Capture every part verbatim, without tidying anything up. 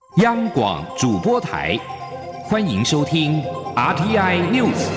央广主播台，欢迎收听 R T I News。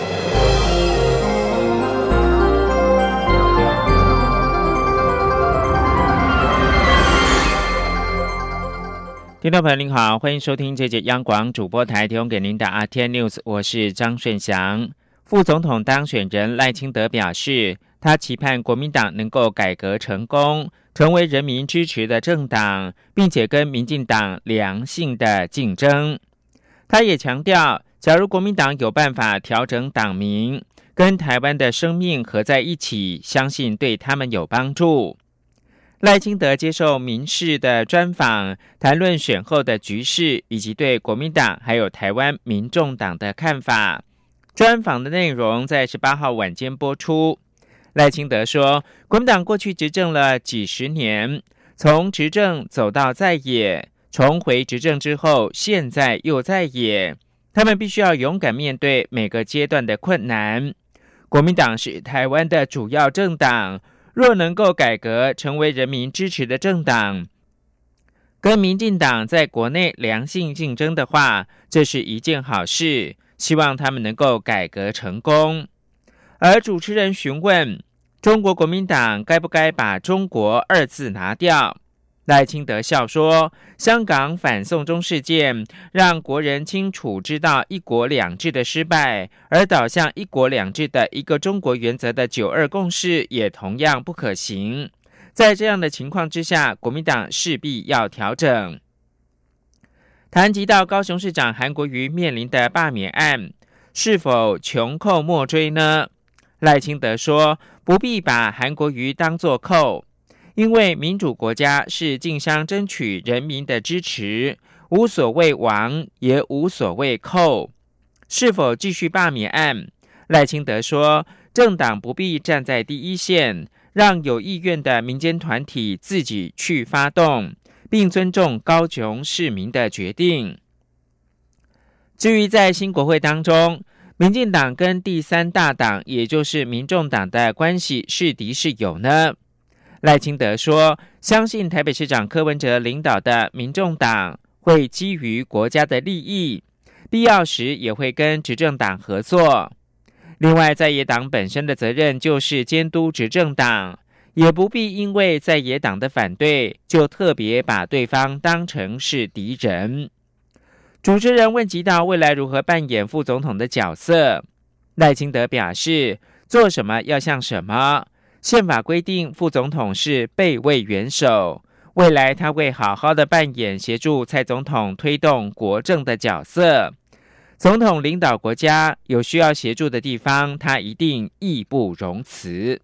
听众朋友您好，欢迎收听这节央广主播台提供给您的 R T I News， 我是张顺祥。副总统当选人赖清德表示，他期盼国民党能够改革成功，成为人民支持的政党，并且跟民进党良性的竞争。他也强调，假如国民党有办法调整党名，跟台湾的生命合在一起，相信对他们有帮助。赖清德接受民视的专访，谈论选后的局势，以及对国民党还有台湾民众党的看法。专访的内容在十八号晚间播出。赖清德说，国民党过去执政了几十年，从执政走到在野，重回执政之后，现在又在野，他们必须要勇敢面对每个阶段的困难。国民党是台湾的主要政党，若能够改革成为人民支持的政党，跟民进党在国内良性竞争的话，这是一件好事，希望他们能够改革成功。而主持人询问中国国民党该不该把中国二字拿掉，赖清德笑说，香港反送中事件让国人清楚知道一国两制的失败，而导向一国两制的一个中国原则的九二共识也同样不可行。在这样的情况之下，国民党势必要调整。谈及到高雄市长韩国瑜面临的罢免案，是否穷寇莫追呢？赖清德说，不必把韩国瑜当作寇，因为民主国家是竞相争取人民的支持，无所谓王，也无所谓寇。是否继续罢免案？赖清德说，政党不必站在第一线，让有意愿的民间团体自己去发动，并尊重高雄市民的决定。至于在新国会当中，民进党跟第三大党，也就是民众党的关系是敌是友呢？赖清德说，相信台北市长柯文哲领导的民众党会基于国家的利益，必要时也会跟执政党合作。另外，在野党本身的责任就是监督执政党，也不必因为在野党的反对，就特别把对方当成是敌人。主持人问及到未来如何扮演副总统的角色，赖清德表示，做什么要像什么，宪法规定副总统是备位元首，未来他会好好的扮演协助蔡总统推动国政的角色。总统领导国家，有需要协助的地方，他一定义不容辞。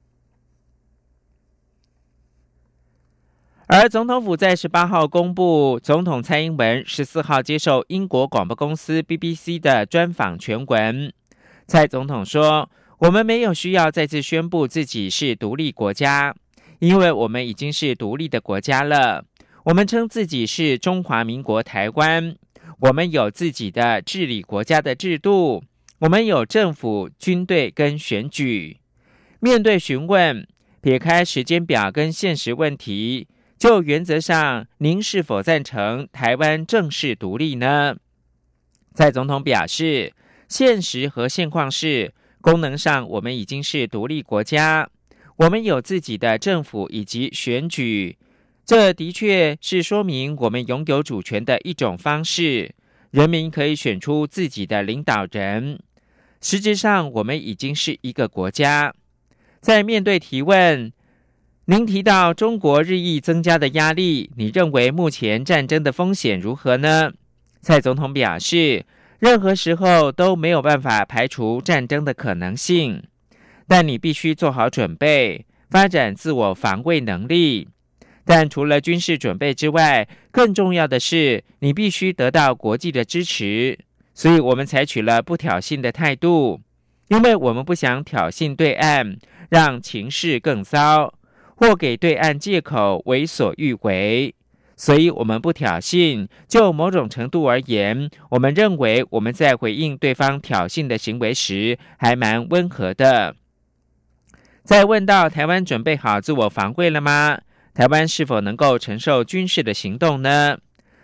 而总统府在十八号公布，总统蔡英文十四号接受英国广播公司 B B C 的专访全文。蔡总统说，我们没有需要再次宣布自己是独立国家，因为我们已经是独立的国家了。我们称自己是中华民国台湾，我们有自己的治理国家的制度，我们有政府、军队跟选举。面对询问，撇开时间表跟现实问题，就原则上，您是否赞成台湾正式独立呢？蔡总统表示，现实和现况是，功能上我们已经是独立国家，我们有自己的政府以及选举，这的确是说明我们拥有主权的一种方式，人民可以选出自己的领导人。实质上，我们已经是一个国家。在面对提问，您提到中国日益增加的压力，你认为目前战争的风险如何呢？蔡总统表示，任何时候都没有办法排除战争的可能性，但你必须做好准备，发展自我防卫能力。但除了军事准备之外，更重要的是，你必须得到国际的支持。所以我们采取了不挑衅的态度，因为我们不想挑衅对岸，让情势更糟，或给对岸借口为所欲为，所以我们不挑衅。就某种程度而言，我们认为我们在回应对方挑衅的行为时还蛮温和的。在问到台湾准备好自我防卫了吗？台湾是否能够承受军事的行动呢？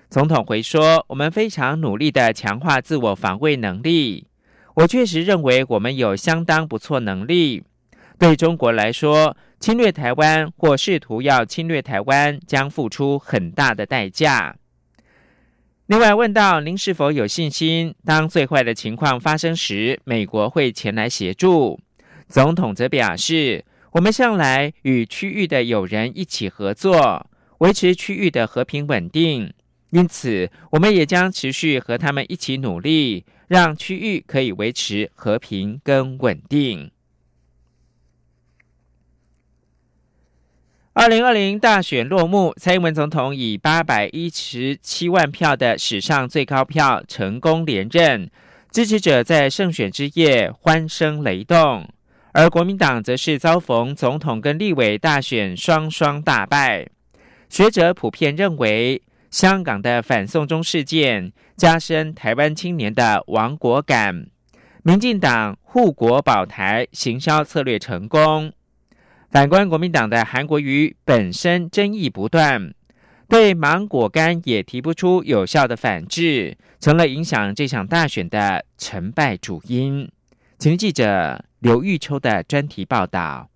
总统回说，我们非常努力地强化自我防卫能力。我确实认为我们有相当不错能力。对中国来说，侵略台湾或试图要侵略台湾将付出很大的代价。另外问到您是否有信心，当最坏的情况发生时，美国会前来协助？总统则表示，我们向来与区域的友人一起合作，维持区域的和平稳定，因此我们也将持续和他们一起努力，让区域可以维持和平跟稳定。二零二零大选落幕，蔡英文总统以八百一十七万票的史上最高票成功连任，支持者在胜选之夜欢声雷动，而国民党则是遭逢总统跟立委大选双双大败。学者普遍认为，香港的反送中事件加深台湾青年的亡国感，民进党护国保台行销策略成功。反观国民党的韩国瑜本身争议不断，对芒果干也提不出有效的反制，成了影响这场大选的成败主因。请记者刘玉秋的专题报道。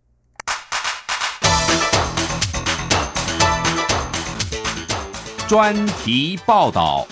专题报道。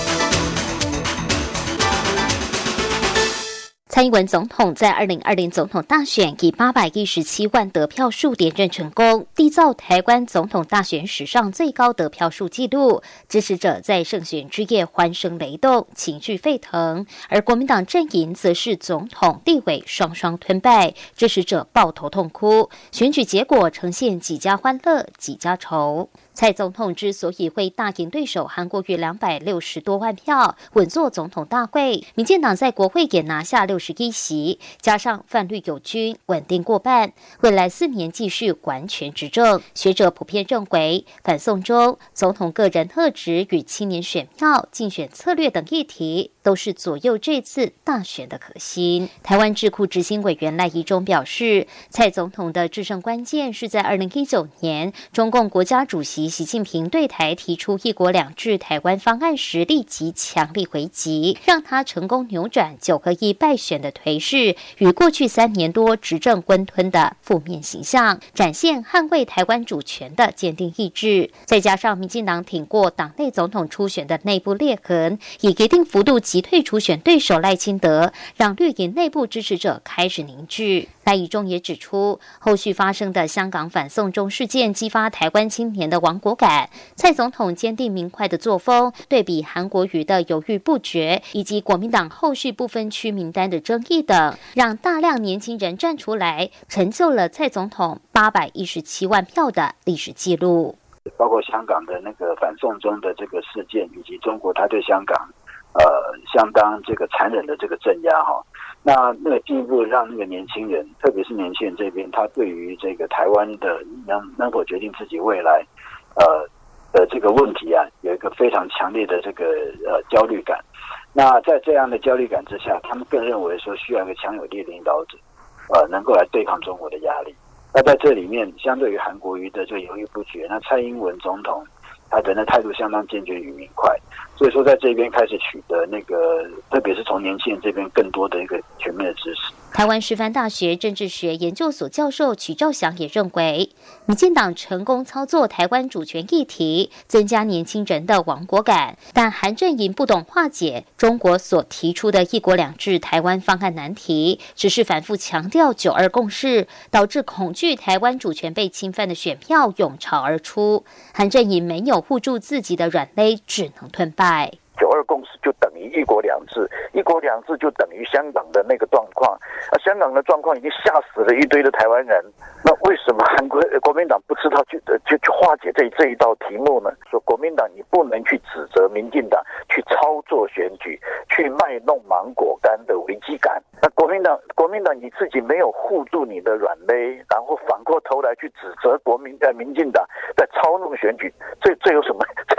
蔡英文总统在二零二零总统大选以八百一十七万得票数连任成功，缔造台湾总统大选史上最高得票数纪录。支持者在胜选之夜欢声雷动，情绪沸腾，而国民党阵营则是总统、立委双双吞败，支持者抱头痛哭。选举结果呈现几家欢乐几家愁。蔡总统之所以会大赢对手韩国瑜两百六十多万票，稳坐总统大会，民进党在国会也拿下六十一席，加上泛绿友军稳定过半，未来四年继续完全执政。学者普遍认为，反送中、总统个人特质与青年选票、竞选策略等议题，都是左右这次大选的核心。台湾智库执行委员赖宜中表示，蔡总统的制胜关键是在二零一九年，中共国家主席习近平对台提出一国两制台湾方案时，立即强力回击，让他成功扭转九合一败选的颓势与过去三年多执政温吞的负面形象，展现捍卫台湾主权的坚定意志。再加上民进党挺过党内总统初选的内部裂痕，以一定幅度击退初选对手赖清德，让绿营内部支持者开始凝聚。赖宜中也指出，后续发生的香港反送中事件激发台湾青年的亡国感，蔡总统坚定明快的作风，对比韩国瑜的犹豫不决，以及国民党后续不分区名单的争议等，让大量年轻人站出来，成就了蔡总统八百一十七万票的历史记录。 包括香港的那个反送中的这个事件，以及中国他对香港呃相当这个残忍的这个镇压哈，那那个进一步让那个年轻人，特别是年轻人这边，他对于这个台湾的能能否决定自己未来呃的这个问题啊，有一个非常强烈的这个呃焦虑感。那在这样的焦虑感之下，他们更认为说需要一个强有力的领导者，呃，能够来对抗中国的压力。那在这里面，相对于韩国瑜的这个犹豫不决，那蔡英文总统他的那态度相当坚决与明快，所以说在这边开始取得那个，特别是从年轻人这边更多的一个全面的支持。 台湾师范大学政治学研究所教授曲兆祥也认为，民进党成功操作台湾主权议题，增加年轻人的亡国感，但韩阵营不懂化解中国所提出的一国两制台湾方案难题，只是反复强调九二共识，导致恐惧台湾主权被侵犯的选票涌潮而出，韩阵营没有护住自己的软肋，只能吞败。 九二共识就等于一国两制，一国两制就等于香港的那个状况。啊，香港的状况已经吓死了一堆的台湾人。那为什么韩国国民党不知道去去去化解这这一道题目呢？说国民党你不能去指责民进党去操作选举，去卖弄芒果干的危机感。那国民党国民党你自己没有护住你的软肋，然后反过头来去指责国民呃民进党在操弄选举，这这有什么这有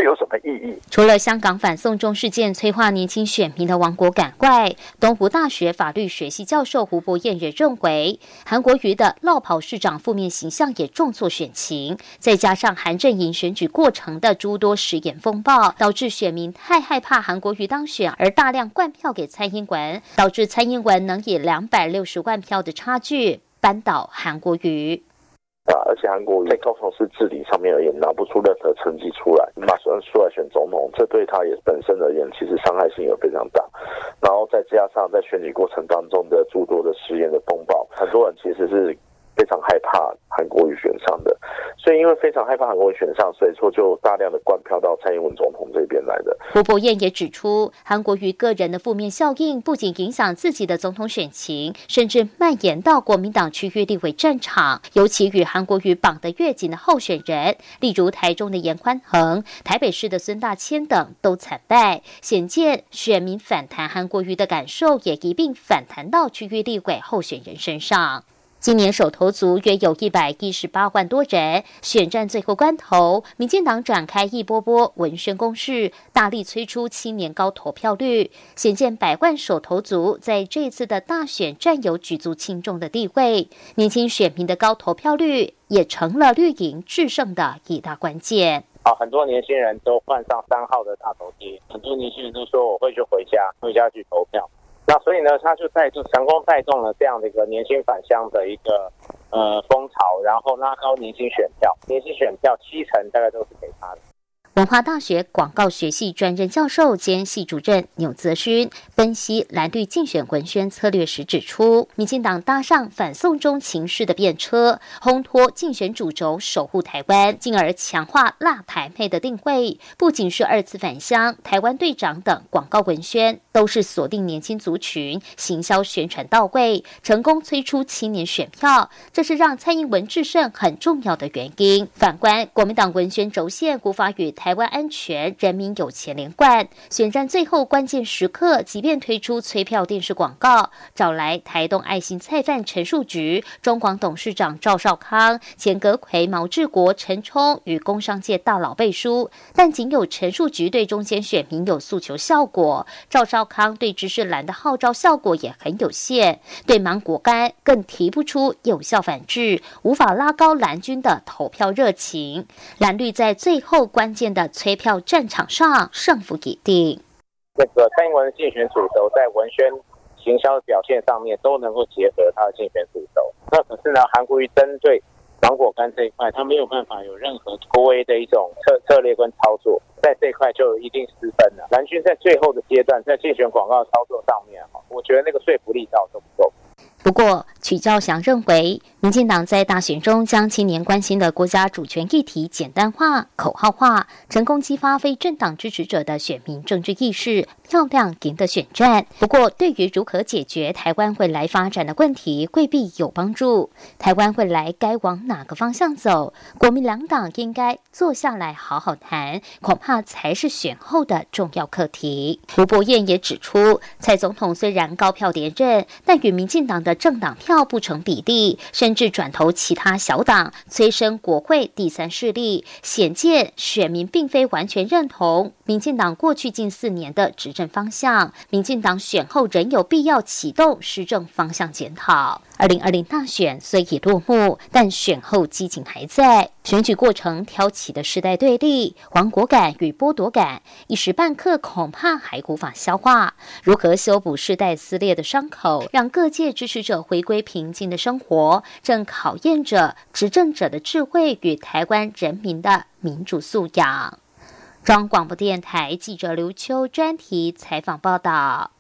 有什么意义？ 除了香港反送中事件催化年轻选民的亡国感外，东湖大学法律学系教授胡博彦也认为，韩国瑜的落跑市长负面形象也重挫选情，再加上韩阵营选举过程的诸多食言风暴，导致选民太害怕韩国瑜当选，而大量灌票给蔡英文，导致蔡英文能以两百六十万票的差距扳倒韩国瑜。 啊，而且韩国瑜在高雄市治理上面而言拿不出任何成绩出来，马上出来选总统，这对他也本身而言其实伤害性也非常大。然后再加上在选举过程当中的诸多的食言的风暴，很多人其实是非常害怕韩国瑜选上的，所以因为非常害怕韩国瑜选上，所以说就大量的灌票到蔡英文总统这边来的。 胡博彦也指出，韩国瑜个人的负面效应不仅影响自己的总统选情，甚至蔓延到国民党区域立委战场，尤其与韩国瑜绑得越紧的候选人，例如台中的严宽恒、台北市的孙大千等都惨败，显见选民反弹韩国瑜的感受也一并反弹到区域立委候选人身上。今年首投族约有一百一十八万多人，选战最后关头，民进党展开一波波文宣攻势，大力催出青年高投票率，显见百万首投族在这次的大选占有举足轻重的地位。年轻选民的高投票率也成了绿营制胜的一大关键。 啊，很多年轻人都换上三号的大头贴，很多年轻人都说我会去回家，回家去投票。那所以呢，他就带就成功带动了这样的一个年轻返乡的一个呃风潮，然后拉高年轻选票，年轻选票七成大概都是给他的。 文化大学广告学系专任教授兼系主任钮泽勋分析蓝绿竞选文宣策略时指出，民进党搭上反送中情势的便车，烘托竞选主轴守护台湾，进而强化辣台妹的定位。不仅是二次返乡、台湾队长等广告文宣，都是锁定年轻族群，行销宣传到位，成功催出青年选票，这是让蔡英文制胜很重要的原因。反观国民党文宣轴线无法与台湾安全、人民有钱连贯，选战最后关键时刻，即便推出催票电视广告，找来台东爱心菜贩陈树菊、中广董事长赵少康、前阁揆毛治国、陈冲与工商界大佬背书，但仅有陈树菊对中间选民有诉求效果，赵少康对知识蓝的号召效果也很有限，对芒果干更提不出有效反制，无法拉高蓝军的投票热情。蓝绿在最后关键的催票战场上胜负已定。 那个蔡英文的竞选主轴在文宣行销的表现上面都能够结合他的竞选主轴，那可是呢，韩国瑜针对芒果干这一块，他没有办法有任何突围的一种策策略跟操作，在这一块就一定失分了。蓝军在最后的阶段，在竞选广告操作上面，我觉得那个说服力倒都不够。 不过，曲兆祥认为，民进党在大选中将青年关心的国家主权议题简单化、口号化，成功激发非政党支持者的选民政治意识，漂亮赢得选战。不过，对于如何解决台湾未来发展的问题，未必有帮助。台湾未来该往哪个方向走，国民两党应该坐下来好好谈，恐怕才是选后的重要课题。胡博彦也指出，蔡总统虽然高票连任，但与民进党的政党票不成比例，甚至转投其他小党，催生国会第三势力，显见选民并非完全认同民进党过去近四年的执政方向。民进党选后仍有必要启动施政方向检讨。二零二零大选虽已落幕，但选后激情还在。选举过程挑起的世代对立、亡国感与剥夺感，一时半刻恐怕还无法消化。如何修补世代撕裂的伤口，让各界支持者回归平静的生活，正考验着执政者的智慧与台湾人民的民主素养。中央广播电台记者刘秋专题采访报道。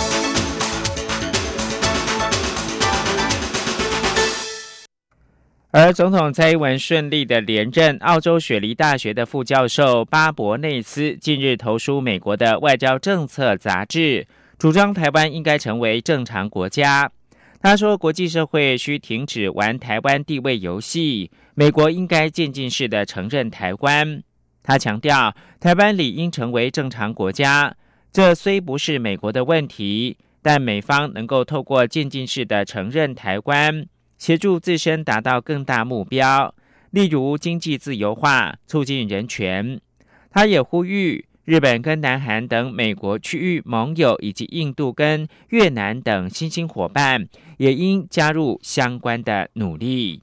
而总统蔡英文顺利的连任，澳洲雪梨大学的副教授巴伯内斯近日投书美国的外交政策杂志，主张台湾应该成为正常国家。他说，国际社会需停止玩台湾地位游戏，美国应该渐进式的承认台湾。他强调，台湾理应成为正常国家，这虽不是美国的问题，但美方能够透过渐进式的承认台湾，协助自身达到更大目标，例如经济自由化、促进人权。 他也呼吁日本跟南韩等美国区域盟友，以及印度跟越南等新兴伙伴，也应加入相关的努力。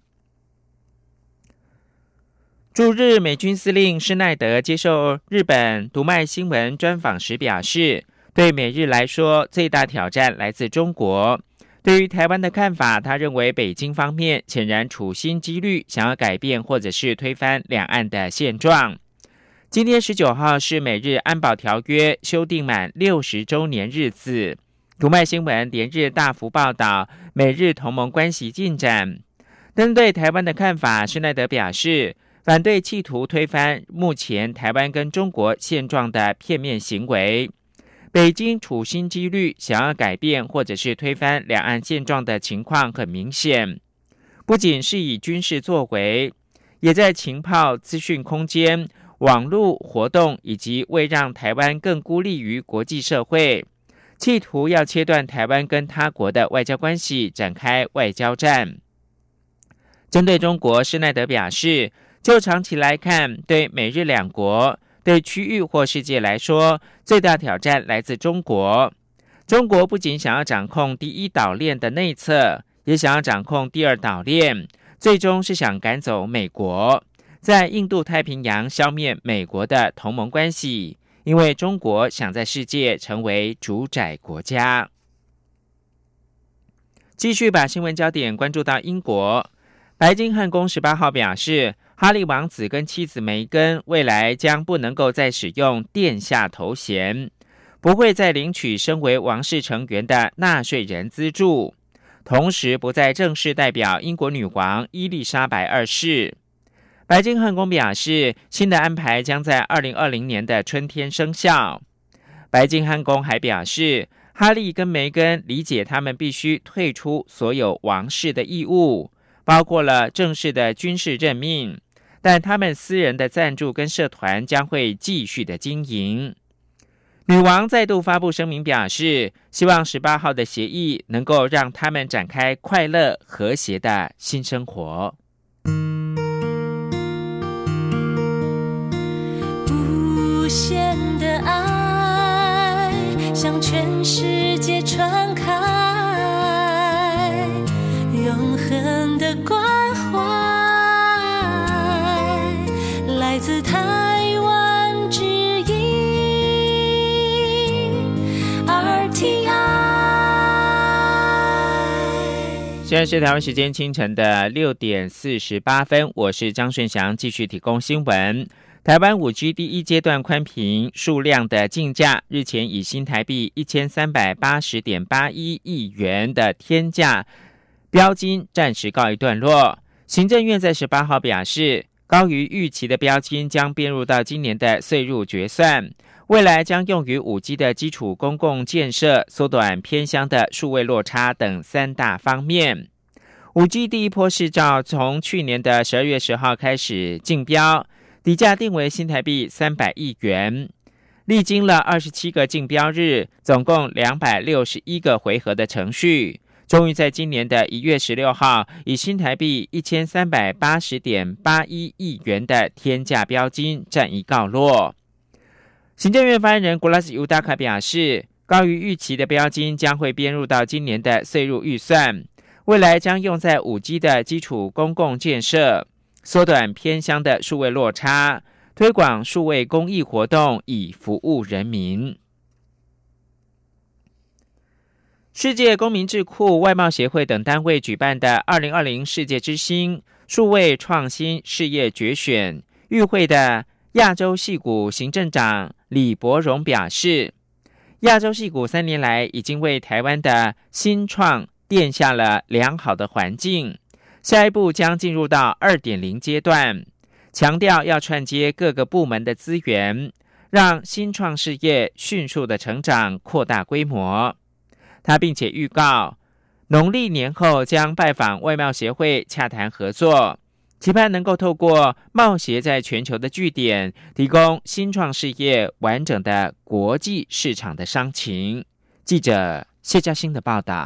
驻日美军司令施耐德接受日本读卖新闻专访时表示，对美日来说，最大挑战来自中国。对于台湾的看法，他认为北京方面显然处心积虑想要改变或者是推翻两岸的现状。今天十九号是美日安保条约修订满六十周年日子，读卖新闻连日大幅报道美日同盟关系进展。针对台湾的看法，施耐德表示，反对企图推翻目前台湾跟中国现状的片面行为。北京处心积虑想要改变或者是推翻两岸现状的情况很明显，不仅是以军事作为，也在情报资讯空间、网络活动以及为让台湾更孤立于国际社会，企图要切断台湾跟他国的外交关系，展开外交战。针对中国，施耐德表示，就长期来看，对美日两国、对区域或世界来说，最大挑战来自中国。中国不仅想要掌控第一岛链的内侧，也想要掌控第二岛链，最终是想赶走美国，在印度太平洋消灭美国的同盟关系，因为中国想在世界成为主宰国家。继续把新闻焦点关注到英国，白金汉宫十八号表示，哈利王子跟妻子梅根未来将不能够再使用殿下头衔，不会再领取身为王室成员的纳税人资助，同时不再正式代表英国女王伊丽莎白二世。白金汉宫表示，新的安排将在二零二零年的春天生效。白金汉宫还表示，哈利跟梅根理解他们必须退出所有王室的义务，包括了正式的军事任命，但他们私人的赞助跟社团将会继续的经营。女王再度发布声明表示，希望十八号的协议能够让他们展开快乐和谐的新生活。 无限的爱向全世界传开，永恒的关怀来自台湾之音 R T I。 现在是台湾时间清晨的六点四十八分，我是张顺祥，继续提供新闻。台湾 五 G 第一阶段宽频数量的竞价日前以新台币 一千三百八十点八一亿元的天价标金暂时告一段落。行政院在十八号表示，高于预期的标金将编入到今年的岁入决算，未来将用于 五 G 的基础公共建设、缩短偏乡的数位落差等三大方面。五 G 第一波市照从去年的十二月十号开始竞标，底价定为新台币三百亿元，历经了二十七个竞标日，总共两百六十一个回合的程序，终于在今年的一月十六号以新台币 一千三百八十点八一亿元的天价标金暂一告落。行政院发言人古拉斯尤达卡表示，高于预期的标金将会编入到今年的岁入预算，未来将用在 五 G 的基础公共建设，缩短偏乡的数位落差，推广数位公益活动，以服务人民。世界公民智库、外贸协会等单位举办的二零二零世界之星数位创新事业决选与会的亚洲矽谷行政长李伯荣表示，亚洲矽谷三年来已经为台湾的新创奠下了良好的环境，下一步将进入到 二点零 阶段，强调要串接各个部门的资源，让新创事业迅速的成长，扩大规模。他并且预告，农历年后将拜访外贸协会洽谈合作，期盼能够透过贸协在全球的据点，提供新创事业完整的国际市场的商情。记者谢嘉欣的报道。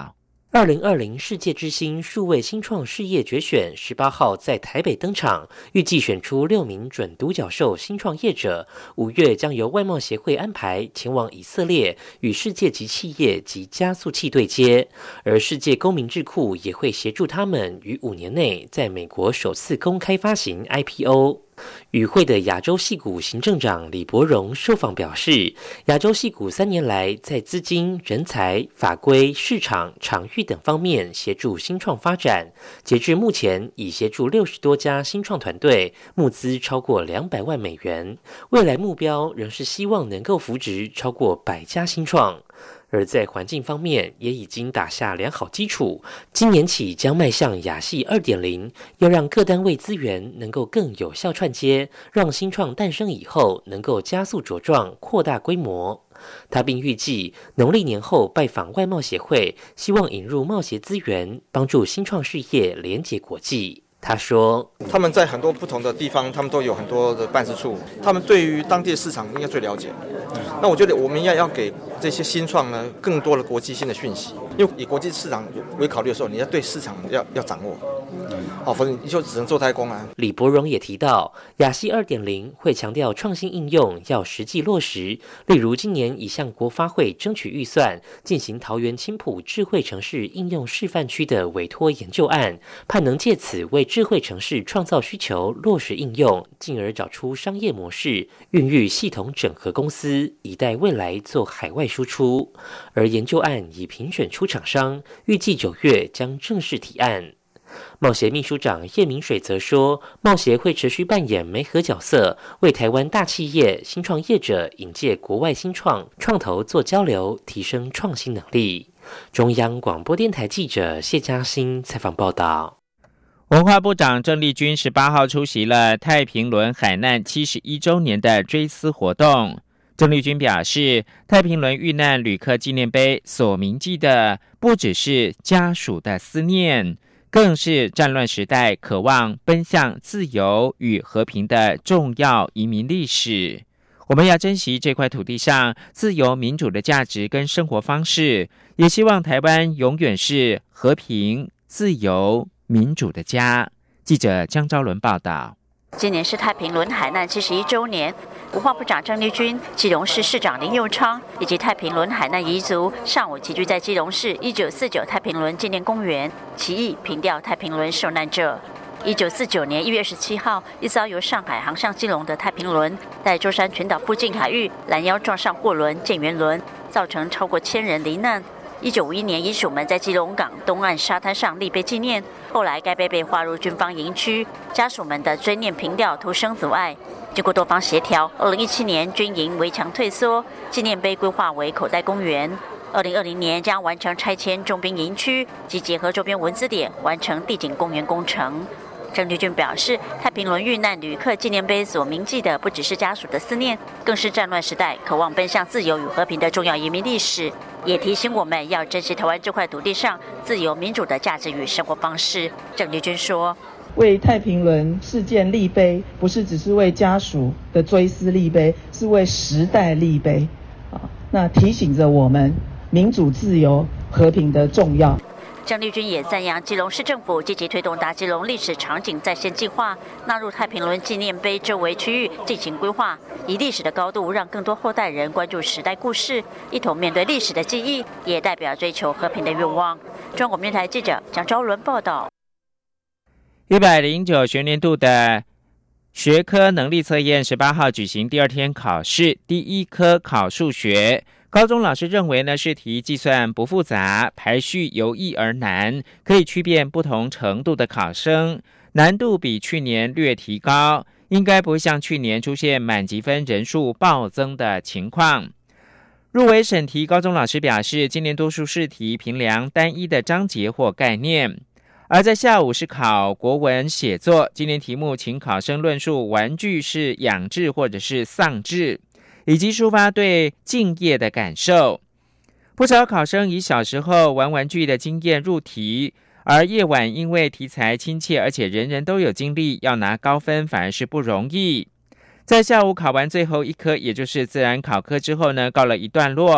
二零二零世界之星数位新创事业决选十八号在台北登场，预计选出六名准独角兽新创业者。五月将由外贸协会安排前往以色列与世界级企业及加速器对接，而世界公民智库也会协助他们于五年内在美国首次公开发行 I P O。与会的亚洲矽谷行政长李伯荣受访表示，亚洲矽谷三年来在资金、人才、法规、市场、场域等方面协助新创发展，截至目前已协助六十多家新创团队，募资超过两百万美元，未来目标仍是希望能够扶植超过百家新创。而在环境方面也已经打下良好基础，今年起将迈向亚系 二点零， 要让各单位资源能够更有效串接，让新创诞生以后能够加速茁壮扩大规模。他并预计农历年后拜访外贸协会，希望引入贸协资源，帮助新创事业连结国际。他说， 他们在很多不同的地方，他们都有很多的办事处，他们对于当地的市场应该最了解。那我觉得我们应该要给这些新创呢更多的国际性的讯息，因为以国际市场为考虑的时候，你要对市场要要掌握，哦，否则你就只能做代工啊。 李伯荣也提到，亚系 二点零 会强调创新应用要实际落实，例如今年已向国发会争取预算，进行桃园青埔智慧城市应用示范区的委托研究案，盼能借此为智慧城市创造需求，落实应用，进而找出商业模式，孕育系统整合公司，以待未来做海外输出。而研究案已评选出厂商，预计九月将正式提案。贸协秘书长叶明水则说，贸协会持续扮演媒合角色，为台湾大企业、新创业者引介国外新创创投做交流，提升创新能力。中央广播电台记者谢嘉欣采访报道。 文化部长郑丽君十八号出席了太平轮海难七十一周年的追思活动。郑丽君表示，太平轮遇难旅客纪念碑所铭记的不只是家属的思念，更是战乱时代渴望奔向自由与和平的重要移民历史。我们要珍惜这块土地上自由民主的价值跟生活方式，也希望台湾永远是和平、自由、民主的家。记者江昭伦报道。 今年是太平轮海难七十一周年，文化部长郑丽君、基隆市市长林右昌以及太平轮海难遗族上午齐聚在基隆市一九四九太平轮纪念公园，齐意凭吊太平轮受难者。一九四九年一月二十七号，一艘由上海航向基隆的太平轮，在舟山群岛附近海域拦腰撞上货轮建元轮，造成超过千人罹难。一九五一年，遗属们在基隆港东岸沙滩上立碑纪念，后来该碑被划入军方营区，家属们的追念凭吊徒生阻碍。经过多方协调，二零一七年军营围墙退缩，纪念碑规划为口袋公园。二零二零年将完成拆迁重兵营区及结合周边文资点，完成地景公园工程。郑丽君表示，太平轮遇难旅客纪念碑所铭记的不只是家属的思念，更是战乱时代渴望奔向自由与和平的重要移民历史，也提醒我们要珍惜台湾这块土地上自由民主的价值与生活方式。郑丽君说， 为太平轮事件立碑，不是只是为家属的追思立碑，是为时代立碑啊！那提醒着我们民主、自由、和平的重要。 郑丽君也赞扬基隆市政府积极推动大基隆历史场景再现计划，纳入太平轮纪念碑周围区域进行规划，以历史的高度让更多后代人关注时代故事，一同面对历史的记忆，也代表追求和平的愿望。中国电台记者蒋昭伦报道。 一百零九学年度的学科能力测验十八号举行第二天考试，第一科考数学。高中老师认为呢，试题计算不复杂，排序由易而难，可以区辨不同程度的考生，难度比去年略提高，应该不会像去年出现满级分人数暴增的情况。入围审题高中老师表示，今年多数试题评量单一的章节或概念。而在下午是考国文写作，今年题目请考生论述玩具是养志或者是丧志，以及抒发对敬业的感受。不少考生以小时候玩玩具的经验入题，而夜晚因为题材亲切，而且人人都有经历，要拿高分反而是不容易。在下午考完最后一科，也就是自然考科之后呢，告了一段落。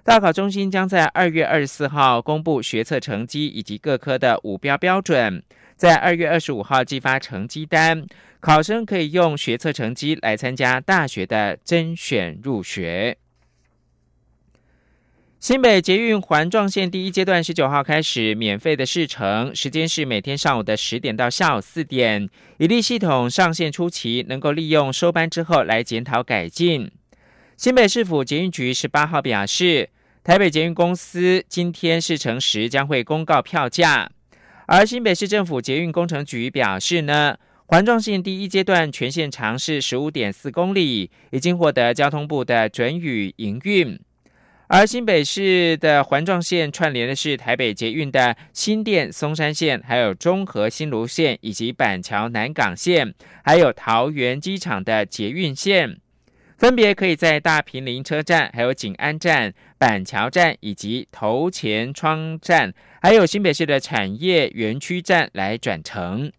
大考中心将在二月二十四号公布学测成绩以及各科的五标标准，在二月二十五号寄发成绩单，考生可以用学测成绩来参加大学的甄选入学。新北捷运环状线第一阶段十九号开始免费的试乘，时间是每天上午的十点到下午四点。以利系统上线初期能够利用收班之后来检讨改进。新北市府捷运局十八号表示，台北捷运公司今天试乘时将会公告票价。而新北市政府捷运工程局表示呢，环状线第一阶段全线长是 十五点四公里，已经获得交通部的准予营运。而新北市的环状线串联的是台北捷运的新店松山线，还有中和新芦线，以及板桥南港线，还有桃园机场的捷运线，分别可以在大坪林车站、还有景安站、板桥站以及头前窗站，还有新北市的产业园区站来转乘。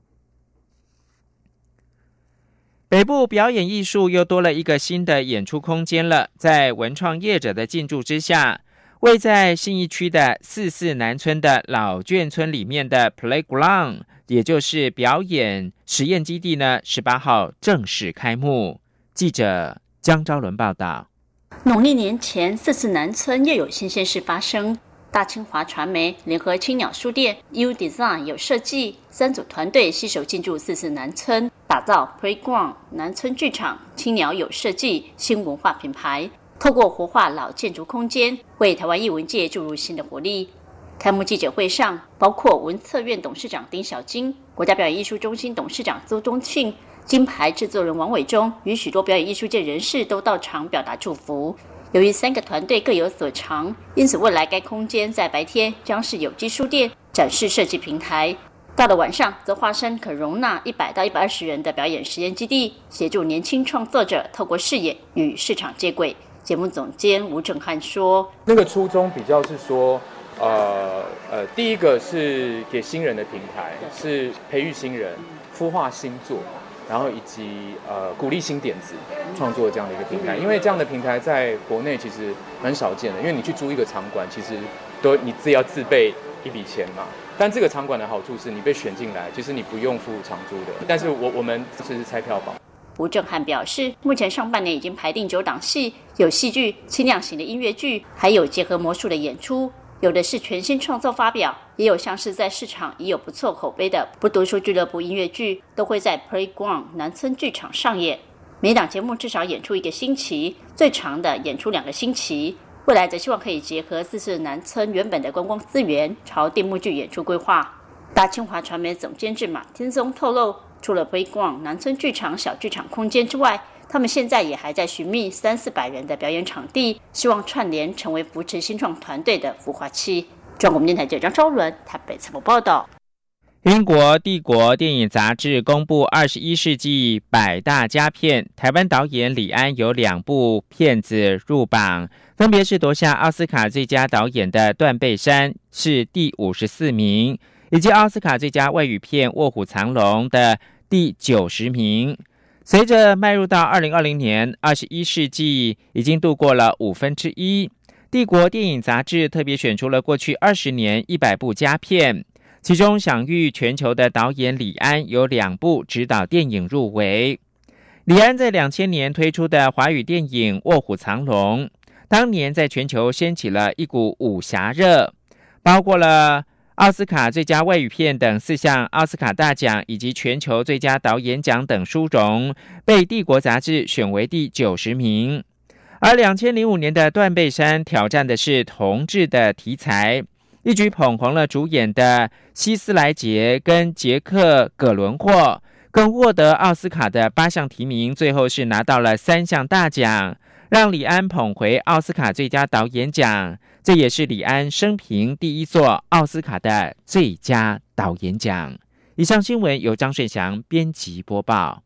北部表演艺术又多了一个新的演出空间了，在文创业者的进驻之下，位在信义区的四四南村的老眷村里面的 Playground， 也就是表演实验基地呢，十八号正式开幕。记者江昭伦报道。 农历年前，四四南村又有新鲜事发生。大清华传媒联合青鸟书店、U Design 有设计三组团队携手进驻四四南村，打造 Playground 南村剧场、青鸟有设计新文化品牌，透过活化老建筑空间，为台湾艺文界注入新的活力。开幕记者会上，包括文策院董事长丁小金、国家表演艺术中心董事长邹东庆、金牌制作人王伟忠与许多表演艺术界人士都到场表达祝福。由于三个团队各有所长，因此未来该空间在白天将是有机书店展示设计平台，到了晚上则化身可容纳一百到一百二十人的表演实验基地，协助年轻创作者透过视野与市场接轨。节目总监吴正汉说， 那个初衷比较是说呃呃，第一个是给新人的平台，是培育新人、孵化新作，然后以及呃鼓励新点子创作这样的一个平台。因为这样的平台在国内其实蛮少见的，因为你去租一个场馆，其实都你自己要自备一笔钱嘛。但这个场馆的好处是你被选进来，其实你不用付场租的。但是我我们是拆票房。 吴正汉表示，目前上半年已经排定九档戏，有戏剧、轻量型的音乐剧，还有结合魔术的演出，有的是全新创作发表，也有像是在市场已有不错口碑的不读书俱乐部音乐剧，都会在 Playground 南村剧场上演。每档节目至少演出一个星期，最长的演出两个星期。未来则希望可以结合四四南村原本的观光资源，朝电幕剧演出规划。大清华传媒总监制马天松透露，除了 Playground 南村剧场小剧场空间之外，他们现在也还在寻觅三四百人的表演场地，希望串联成为扶持新创团队的孵化器。中国电台记者张昭伦台北采访报道。 英国帝国电影杂志公布二十一世纪百大佳片，台湾导演李安有两部片子入榜，分别是夺下奥斯卡最佳导演的《断背山》是第五十四名，以及奥斯卡最佳外语片《卧虎藏龙》的第九十名。随着迈入到二零二零年，二十一世纪已经度过了五分之一，帝国电影杂志特别选出了过去二十年一百部佳片，其中享誉全球的导演李安有两部指导电影入围。李安在两千年推出的华语电影《卧虎藏龙》，当年在全球掀起了一股武侠热，包括了奥斯卡最佳外语片等四项奥斯卡大奖，以及全球最佳导演奖等殊荣，被帝国杂志选为第九十名。而两千零五年的《断背山》挑战的是同志的题材，一举捧红了主演的希斯莱杰跟杰克·葛伦霍，更获得奥斯卡的八项提名，最后是拿到了三项大奖，让李安捧回奥斯卡最佳导演奖，这也是李安生平第一座奥斯卡的最佳导演奖。以上新闻由张顺祥编辑播报。